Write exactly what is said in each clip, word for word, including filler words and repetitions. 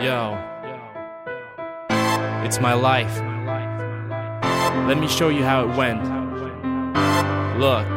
Yo, it's my life. Let me show you how it went. Look.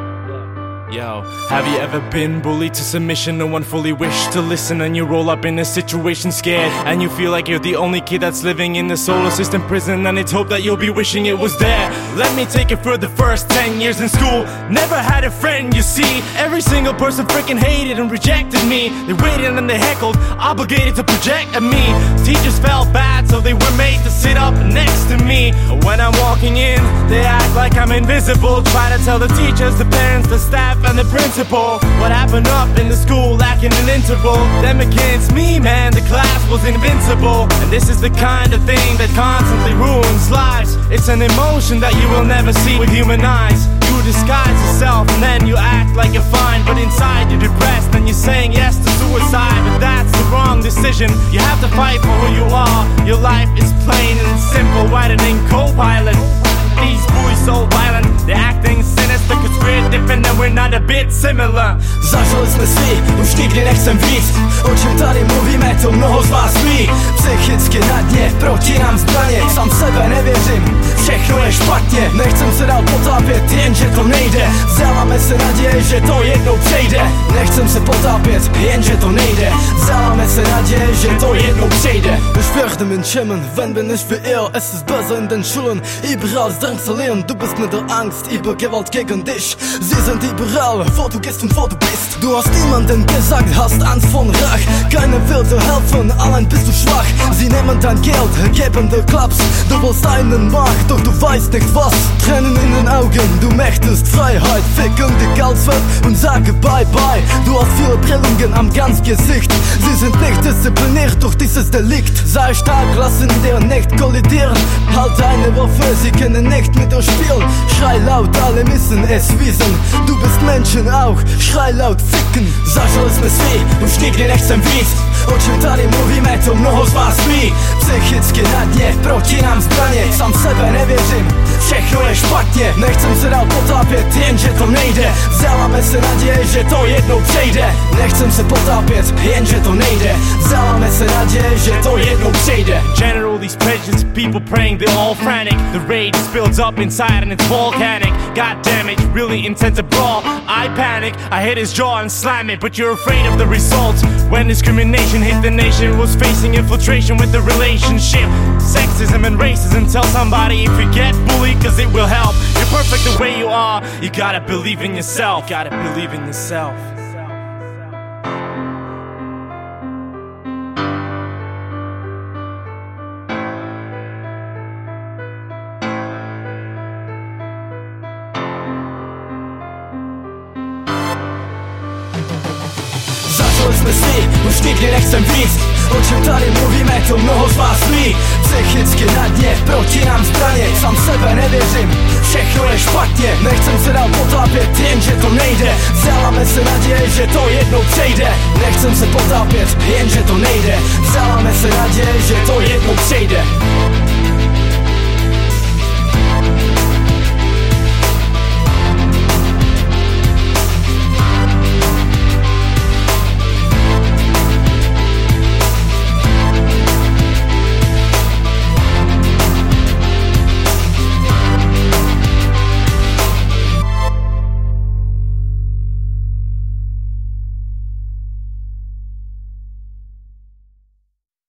Yo, have you ever been bullied to submission? No one fully wished to listen, and you roll up in a situation scared, and you feel like you're the only kid that's living in the solar system prison, and it's hope that you'll be wishing it was there. Let me take it for the first ten years in school. Never had a friend, you see. Every single person freaking hated and rejected me. They waited and they heckled, obligated to project at me. Teachers felt bad, so they were made to sit up next to me. When I'm walking in, they act like I'm invisible. Try to tell the teachers, the parents, the staff and the principal what happened up in the school, lacking an interval. Them against me, man, the class was invincible. And this is the kind of thing that constantly ruins lives. It's an emotion that you will never see with human eyes. You disguise yourself and then you act like you're fine, but inside you're depressed and you're saying yes to suicide. But that's the wrong decision. You have to fight for who you are. Your life is plain and simple, writing in co-pilot. These boys so violent, they're acting sinister, cause we're different and we're not a bit similar. Zažili jsme si, už nikdy nechcem víc. O čem tady mluvíme, to mnoho z vás ví. Psychicky na dně, proti nám zbraně. Sám sebe nevěřím, všechno je špatně. Nechcem se dál potápět, jenže to nejde. Vzdáváme se naděje, že to jednou přejde. Nechcem se potápět, jenže to nejde. Vzdáváme se naděje, že to jednou přejde. Ich werde mich schämen, wenn bin ich wie ihr. Es ist besser in den Schulen, überall drangsalieren. Du bist mit der Angst über Gewalt gegen dich. Sie sind überall, wo du gehst und wo du bist. Du hast niemanden gesagt, hast Angst von Rach. Keiner will dir helfen, allein bist du schwach. Sie nehmen dein Geld, geben dir Klaps. Du willst einen Markt, doch du weißt nicht was. Tränen in den Augen, du möchtest Freiheit. Ficken dich als Welt und sage bye bye. Du hast viele Prellungen am ganzen Gesicht. Sie sind nicht diszipliniert durch dieses Delikt. Sei stark, lassen dir nicht kollidieren. Halt deine Waffe, sie können nicht mit dir spielen. Schrei laut, alle müssen es wissen. Du bist Menschen auch, schrei laut, ficken. Zažili jsme si, už nikdy nechcem víc. O čem tady mluvíme, to mnoho z vás ví. Psychicky na dně, proti nám zbraně. Sám sebe nevěřím, všechno je špatně. Nechcem se dál potápět, jenže to nejde. Vzdáváme se naděje, že to jednou přejde. Nechcem se potápět, jenže to nejde. Vzdáváme se naděje, že to jednou přejde. General, these prejudiced people praying, they're all frantic. The rage builds up inside and it's volcanic. God damn it, you really intend to brawl. I panic, I hit his jaw and slam it, but you're afraid of the results. When discrimination hit the nation, was facing infiltration with the relationship. Sexism and racism, tell somebody if you get bullied, cause it will help. You're perfect the way you are, you gotta believe in yourself. You gotta believe in yourself. Zažili jsme si, už nikdy nechcem víc. O čem tady mluvíme, to mnoho z vás ví. Psychicky na dně, proti nám zbraně. Sám sebe nevěřím, všechno je špatně. Nechcem se dál potápět, jenže to nejde. Vzdáváme se naděje, že to jednou přejde. Nechcem se potápět, jenže to nejde. Vzdáváme se naděje, že to jednou přejde.